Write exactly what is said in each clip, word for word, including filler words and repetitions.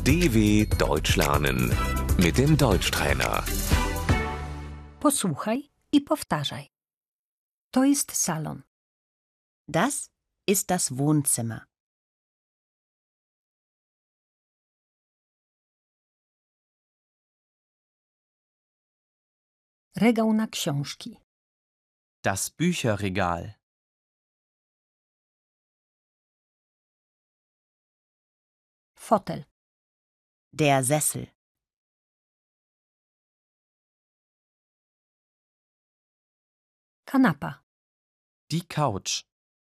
D W Deutsch lernen mit dem Deutschtrainer. Posłuchaj i powtarzaj. To jest salon. Das ist das Wohnzimmer. Regał na książki. Das Bücherregal. Fotel. Der Sessel. Kanapa. Die Couch.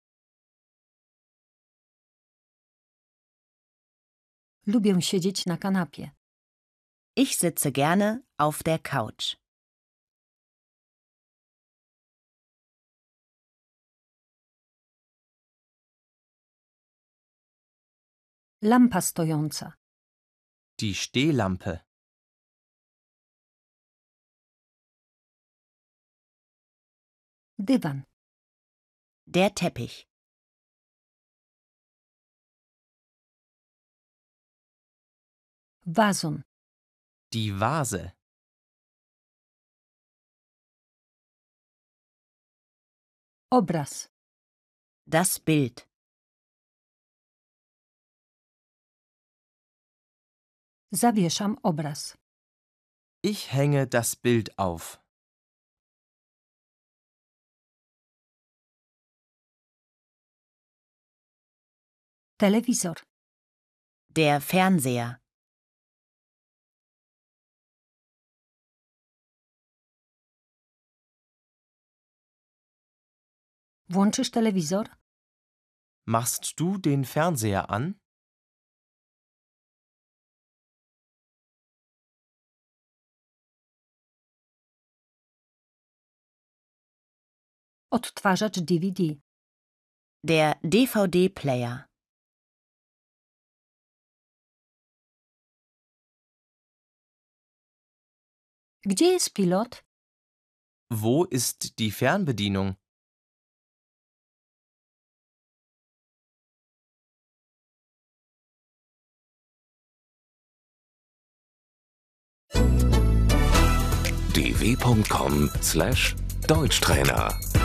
Lubię siedzieć na kanapie. Ich sitze gerne auf der Couch. Lampa stojąca. Die Stehlampe. Dywan. Der Teppich. Wazon. Die Vase. Obraz. Das Bild. Zawieszam obraz. Ich hänge das Bild auf. Telewizor. Der Fernseher. Włączysz telewizor? Machst du den Fernseher an? Odtwarzacz D V D. Der D V D-Player. Gdzie jest pilot? Wo ist die Fernbedienung? d w punkt com slash Deutschtrainer